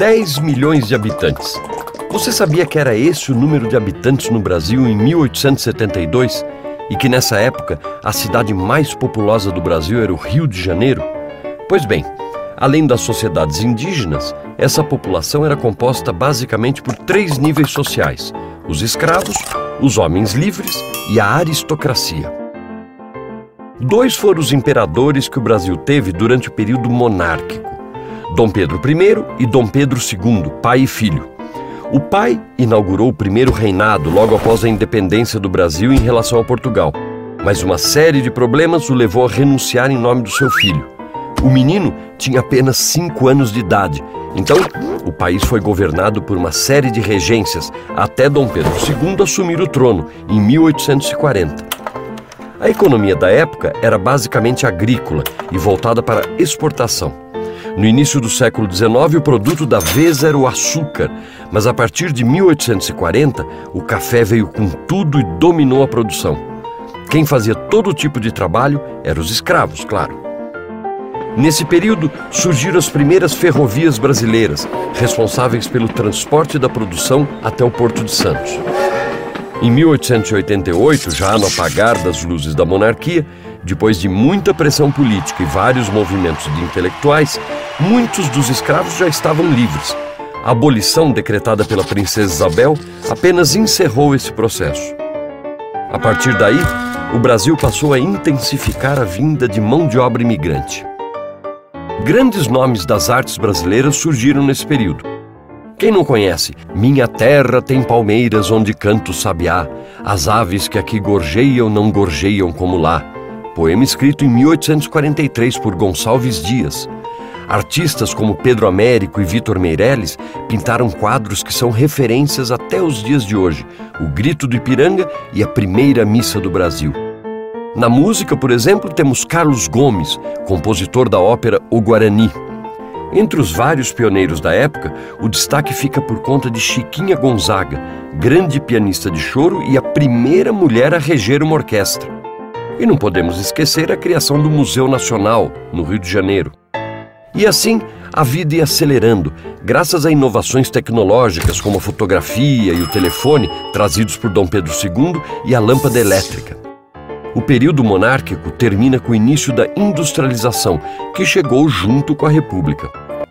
10 milhões de habitantes. Você sabia que era esse o número de habitantes no Brasil em 1872? E que nessa época a cidade mais populosa do Brasil era o Rio de Janeiro? Pois bem, além das sociedades indígenas, essa população era composta basicamente por 3 níveis sociais: os escravos, os homens livres e a aristocracia. 2 foram os imperadores que o Brasil teve durante o período monárquico: Dom Pedro I e Dom Pedro II, pai e filho. O pai inaugurou o primeiro reinado logo após a independência do Brasil em relação a Portugal, mas uma série de problemas o levou a renunciar em nome do seu filho. O menino tinha apenas 5 anos de idade, então o país foi governado por uma série de regências até Dom Pedro II assumir o trono em 1840. A economia da época era basicamente agrícola e voltada para exportação. No início do século XIX, o produto da vez era o açúcar, mas a partir de 1840, o café veio com tudo e dominou a produção. Quem fazia todo tipo de trabalho eram os escravos, claro. Nesse período, surgiram as primeiras ferrovias brasileiras, responsáveis pelo transporte da produção até o Porto de Santos. Em 1888, já no apagar das luzes da monarquia, depois de muita pressão política e vários movimentos de intelectuais, muitos dos escravos já estavam livres. A abolição decretada pela princesa Isabel apenas encerrou esse processo. A partir daí, o Brasil passou a intensificar a vinda de mão de obra imigrante. Grandes nomes das artes brasileiras surgiram nesse período. Quem não conhece? Minha terra tem palmeiras onde canta o sabiá, as aves que aqui gorjeiam não gorjeiam como lá. Poema escrito em 1843 por Gonçalves Dias. Artistas como Pedro Américo e Vitor Meirelles pintaram quadros que são referências até os dias de hoje: O Grito do Ipiranga e A Primeira Missa do Brasil. Na música, por exemplo, temos Carlos Gomes, compositor da ópera O Guarani. Entre os vários pioneiros da época, o destaque fica por conta de Chiquinha Gonzaga, grande pianista de choro e a primeira mulher a reger uma orquestra. E não podemos esquecer a criação do Museu Nacional, no Rio de Janeiro. E assim, a vida ia acelerando, graças a inovações tecnológicas como a fotografia e o telefone, trazidos por Dom Pedro II, e a lâmpada elétrica. O período monárquico termina com o início da industrialização, que chegou junto com a República.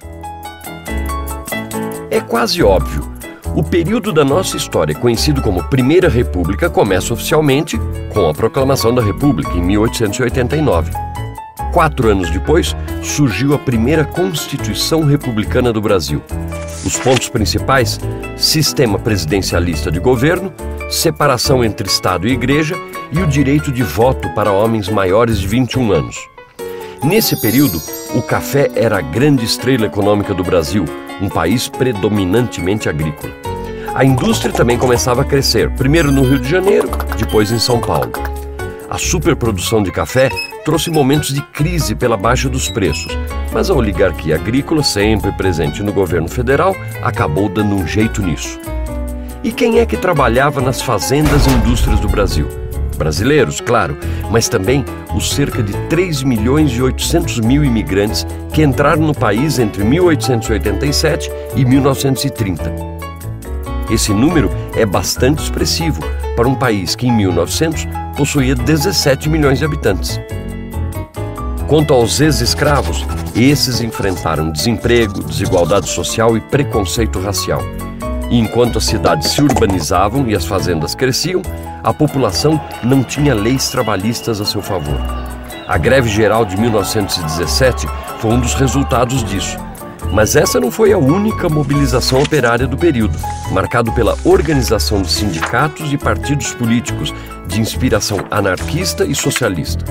É quase óbvio. O período da nossa história, conhecido como Primeira República, começa oficialmente com a Proclamação da República, em 1889. 4 anos depois, surgiu a primeira Constituição Republicana do Brasil. Os pontos principais: sistema presidencialista de governo, separação entre Estado e Igreja e o direito de voto para homens maiores de 21 anos. Nesse período, o café era a grande estrela econômica do Brasil, um país predominantemente agrícola. A indústria também começava a crescer, primeiro no Rio de Janeiro, depois em São Paulo. A superprodução de café trouxe momentos de crise pela baixa dos preços, mas a oligarquia agrícola, sempre presente no governo federal, acabou dando um jeito nisso. E quem é que trabalhava nas fazendas e indústrias do Brasil? Brasileiros, claro, mas também os cerca de 3 milhões e 800 mil imigrantes que entraram no país entre 1887 e 1930. Esse número é bastante expressivo para um país que em 1900 possuía 17 milhões de habitantes. Quanto aos ex-escravos, esses enfrentaram desemprego, desigualdade social e preconceito racial. E enquanto as cidades se urbanizavam e as fazendas cresciam, a população não tinha leis trabalhistas a seu favor. A greve geral de 1917 foi um dos resultados disso. Mas essa não foi a única mobilização operária do período, marcado pela organização de sindicatos e partidos políticos de inspiração anarquista e socialista.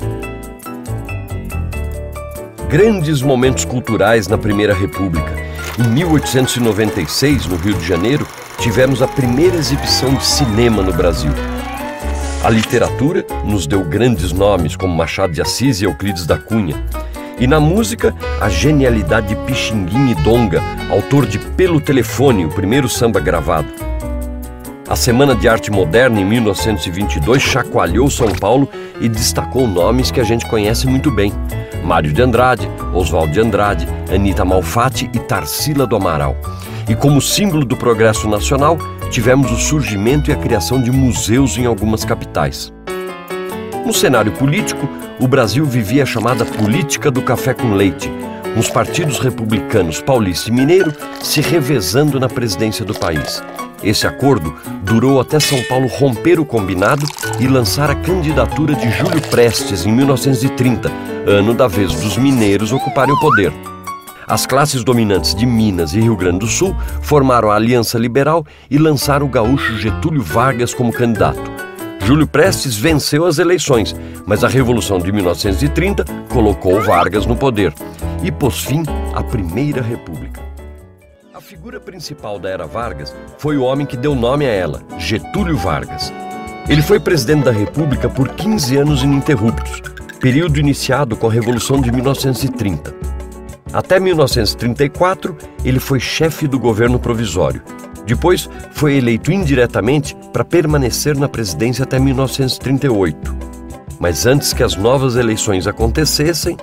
Grandes momentos culturais na Primeira República. Em 1896, no Rio de Janeiro, tivemos a primeira exibição de cinema no Brasil. A literatura nos deu grandes nomes como Machado de Assis e Euclides da Cunha. E na música, a genialidade de Pixinguinha e Donga, autor de Pelo Telefone, o primeiro samba gravado. A Semana de Arte Moderna, em 1922, chacoalhou São Paulo e destacou nomes que a gente conhece muito bem. Mário de Andrade, Oswald de Andrade, Anita Malfatti e Tarsila do Amaral. E como símbolo do progresso nacional, tivemos o surgimento e a criação de museus em algumas capitais. No cenário político, o Brasil vivia a chamada política do café com leite, com os partidos republicanos paulista e mineiro se revezando na presidência do país. Esse acordo durou até São Paulo romper o combinado e lançar a candidatura de Júlio Prestes em 1930, ano da vez dos mineiros ocuparem o poder. As classes dominantes de Minas e Rio Grande do Sul formaram a Aliança Liberal e lançaram o gaúcho Getúlio Vargas como candidato. Júlio Prestes venceu as eleições, mas a Revolução de 1930 colocou Vargas no poder e pôs fim à Primeira República. A figura principal da era Vargas foi o homem que deu nome a ela, Getúlio Vargas. Ele foi presidente da República por 15 anos ininterruptos, período iniciado com a Revolução de 1930. Até 1934, ele foi chefe do governo provisório. Depois, foi eleito indiretamente para permanecer na presidência até 1938. Mas antes que as novas eleições acontecessem,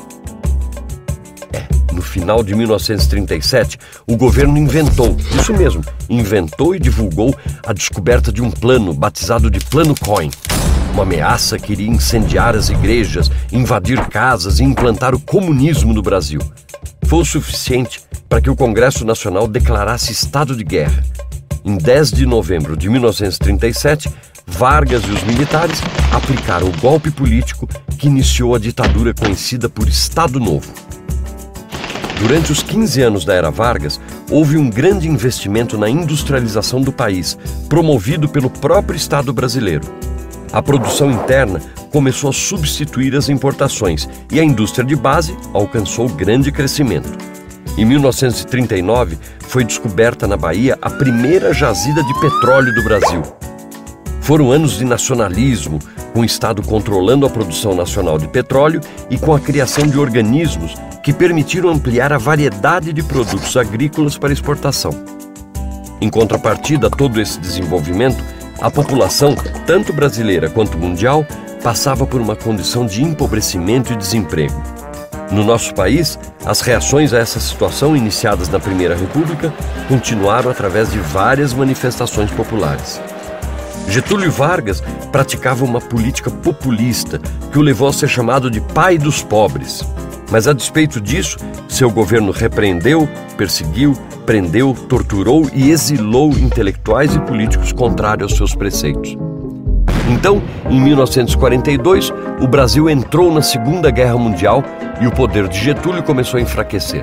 no final de 1937, o governo inventou e divulgou a descoberta de um plano batizado de Plano Cohen. Uma ameaça que iria incendiar as igrejas, invadir casas e implantar o comunismo no Brasil. Foi o suficiente para que o Congresso Nacional declarasse estado de guerra. Em 10 de novembro de 1937, Vargas e os militares aplicaram o golpe político que iniciou a ditadura conhecida por Estado Novo. Durante os 15 anos da era Vargas, houve um grande investimento na industrialização do país, promovido pelo próprio Estado brasileiro. A produção interna começou a substituir as importações e a indústria de base alcançou grande crescimento. Em 1939, foi descoberta na Bahia a primeira jazida de petróleo do Brasil. Foram anos de nacionalismo, com o Estado controlando a produção nacional de petróleo e com a criação de organismos que permitiram ampliar a variedade de produtos agrícolas para exportação. Em contrapartida a todo esse desenvolvimento, a população, tanto brasileira quanto mundial, passava por uma condição de empobrecimento e desemprego. No nosso país, as reações a essa situação iniciadas na Primeira República continuaram através de várias manifestações populares. Getúlio Vargas praticava uma política populista que o levou a ser chamado de pai dos pobres. Mas, a despeito disso, seu governo repreendeu, perseguiu, prendeu, torturou e exilou intelectuais e políticos contrários aos seus preceitos. Então, em 1942, o Brasil entrou na Segunda Guerra Mundial e o poder de Getúlio começou a enfraquecer.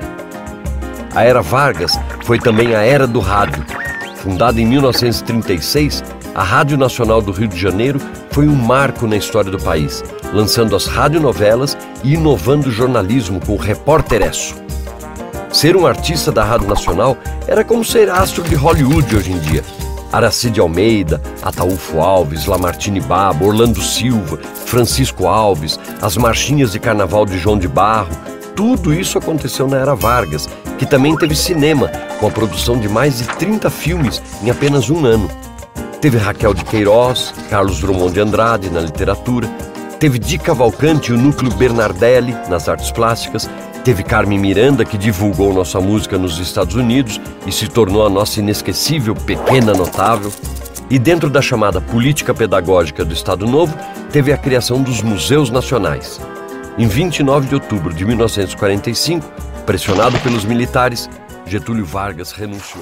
A era Vargas foi também a era do rádio. Fundada em 1936, a Rádio Nacional do Rio de Janeiro foi um marco na história do país, lançando as radionovelas e inovando o jornalismo com o Repórteresso. Ser um artista da Rádio Nacional era como ser astro de Hollywood hoje em dia. Aracide Almeida, Ataúfo Alves, Lamartine Babo, Orlando Silva, Francisco Alves, as marchinhas de carnaval de João de Barro, tudo isso aconteceu na era Vargas, que também teve cinema, com a produção de mais de 30 filmes em apenas um ano. Teve Raquel de Queiroz, Carlos Drummond de Andrade na literatura, teve Di Cavalcanti e o Núcleo Bernardelli nas artes plásticas, teve Carmen Miranda, que divulgou nossa música nos Estados Unidos e se tornou a nossa inesquecível Pequena Notável. E dentro da chamada política pedagógica do Estado Novo, teve a criação dos Museus Nacionais. Em 29 de outubro de 1945, pressionado pelos militares, Getúlio Vargas renunciou.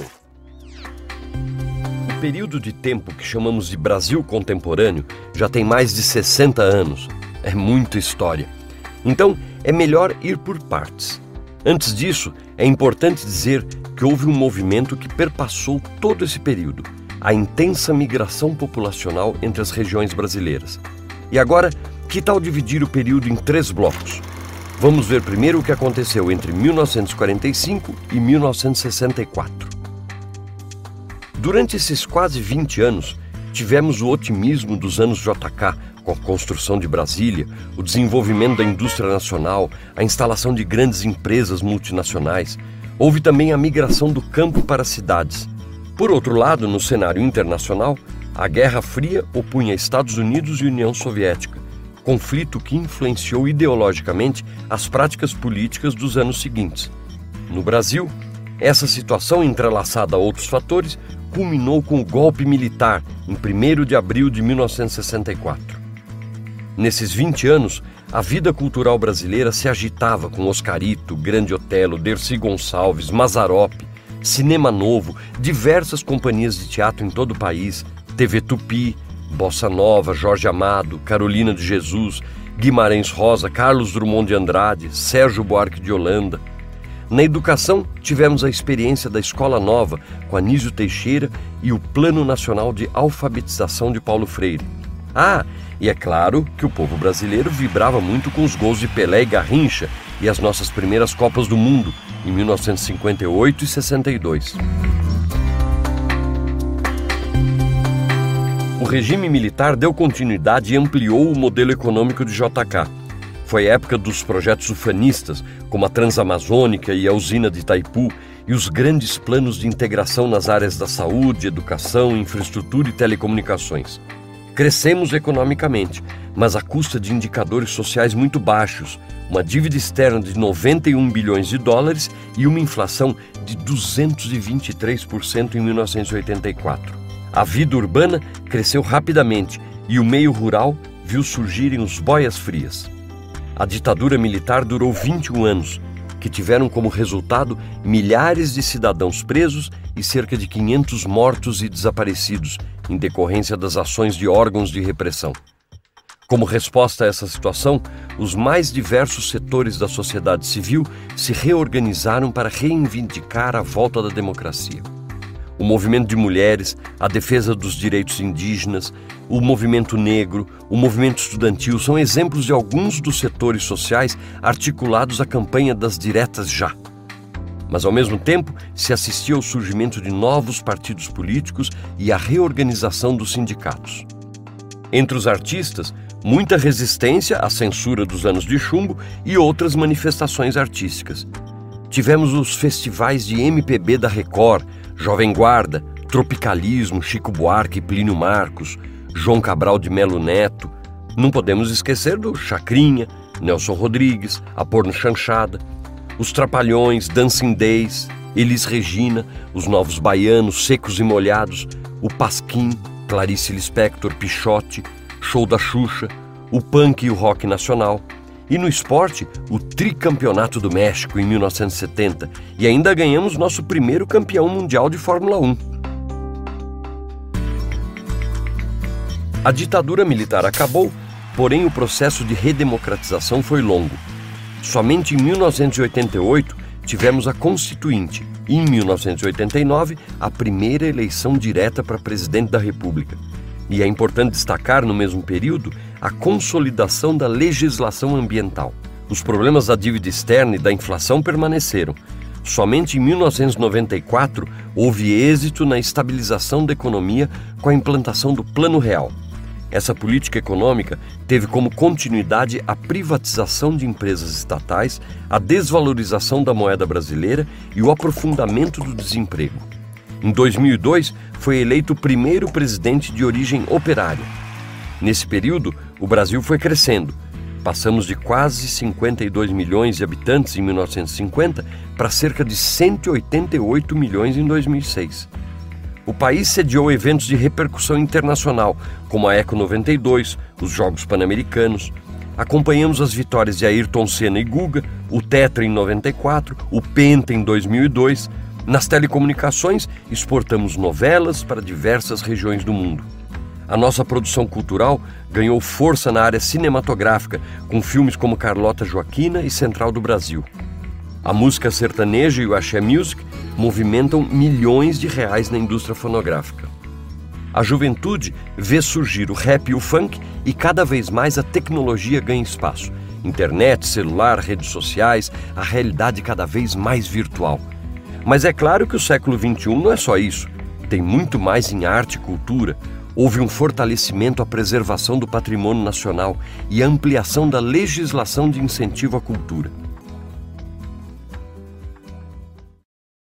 O período de tempo que chamamos de Brasil contemporâneo já tem mais de 60 anos. É muita história. Então, é melhor ir por partes. Antes disso, é importante dizer que houve um movimento que perpassou todo esse período, a intensa migração populacional entre as regiões brasileiras. E agora, que tal dividir o período em 3 blocos? Vamos ver primeiro o que aconteceu entre 1945 e 1964. Durante esses quase 20 anos, tivemos o otimismo dos anos JK, com a construção de Brasília, o desenvolvimento da indústria nacional, a instalação de grandes empresas multinacionais. Houve também a migração do campo para as cidades. Por outro lado, no cenário internacional, a Guerra Fria opunha Estados Unidos e União Soviética, conflito que influenciou ideologicamente as práticas políticas dos anos seguintes. No Brasil, essa situação, entrelaçada a outros fatores, culminou com o golpe militar em 1º de abril de 1964. Nesses 20 anos, a vida cultural brasileira se agitava com Oscarito, Grande Otelo, Dercy Gonçalves, Mazzaropi, Cinema Novo, diversas companhias de teatro em todo o país, TV Tupi, Bossa Nova, Jorge Amado, Carolina de Jesus, Guimarães Rosa, Carlos Drummond de Andrade, Sérgio Buarque de Holanda. Na educação, tivemos a experiência da Escola Nova, com Anísio Teixeira, e o Plano Nacional de Alfabetização de Paulo Freire. E é claro que o povo brasileiro vibrava muito com os gols de Pelé e Garrincha e as nossas primeiras Copas do Mundo, em 1958 e 62. O regime militar deu continuidade e ampliou o modelo econômico de JK. Foi a época dos projetos ufanistas, como a Transamazônica e a usina de Itaipu, e os grandes planos de integração nas áreas da saúde, educação, infraestrutura e telecomunicações. Crescemos economicamente, mas à custa de indicadores sociais muito baixos, uma dívida externa de 91 bilhões de dólares e uma inflação de 223% em 1984. A vida urbana cresceu rapidamente e o meio rural viu surgirem os boias-frias. A ditadura militar durou 21 anos, que tiveram como resultado milhares de cidadãos presos e cerca de 500 mortos e desaparecidos, em decorrência das ações de órgãos de repressão. Como resposta a essa situação, os mais diversos setores da sociedade civil se reorganizaram para reivindicar a volta da democracia. O movimento de mulheres, a defesa dos direitos indígenas, o movimento negro, o movimento estudantil são exemplos de alguns dos setores sociais articulados à campanha das diretas já. Mas, ao mesmo tempo, se assistia ao surgimento de novos partidos políticos e à reorganização dos sindicatos. Entre os artistas, muita resistência à censura dos anos de chumbo e outras manifestações artísticas. Tivemos os festivais de MPB da Record, Jovem Guarda, Tropicalismo, Chico Buarque, Plínio Marcos, João Cabral de Melo Neto. Não podemos esquecer do Chacrinha, Nelson Rodrigues, a Porno Chanchada, os Trapalhões, Dancing Days, Elis Regina, os Novos Baianos, Secos e Molhados, o Pasquim, Clarice Lispector, Pichote, Show da Xuxa, o punk e o rock nacional. E no esporte, o tricampeonato do México em 1970, e ainda ganhamos nosso primeiro campeão mundial de Fórmula 1. A ditadura militar acabou, porém o processo de redemocratização foi longo. Somente em 1988 tivemos a Constituinte e em 1989 a primeira eleição direta para presidente da República. E é importante destacar, no mesmo período, a consolidação da legislação ambiental. Os problemas da dívida externa e da inflação permaneceram. Somente em 1994 houve êxito na estabilização da economia com a implantação do Plano Real. Essa política econômica teve como continuidade a privatização de empresas estatais, a desvalorização da moeda brasileira e o aprofundamento do desemprego. Em 2002, foi eleito o primeiro presidente de origem operária. Nesse período, o Brasil foi crescendo. Passamos de quase 52 milhões de habitantes em 1950 para cerca de 188 milhões em 2006. O país sediou eventos de repercussão internacional, como a Eco 92, os Jogos Pan-Americanos. Acompanhamos as vitórias de Ayrton Senna e Guga, o Tetra em 94, o Penta em 2002. Nas telecomunicações, exportamos novelas para diversas regiões do mundo. A nossa produção cultural ganhou força na área cinematográfica, com filmes como Carlota Joaquina e Central do Brasil. A música sertaneja e o axé music movimentam milhões de reais na indústria fonográfica. A juventude vê surgir o rap e o funk e cada vez mais a tecnologia ganha espaço. Internet, celular, redes sociais, a realidade cada vez mais virtual. Mas é claro que o século XXI não é só isso. Tem muito mais em arte e cultura. Houve um fortalecimento à preservação do patrimônio nacional e a ampliação da legislação de incentivo à cultura.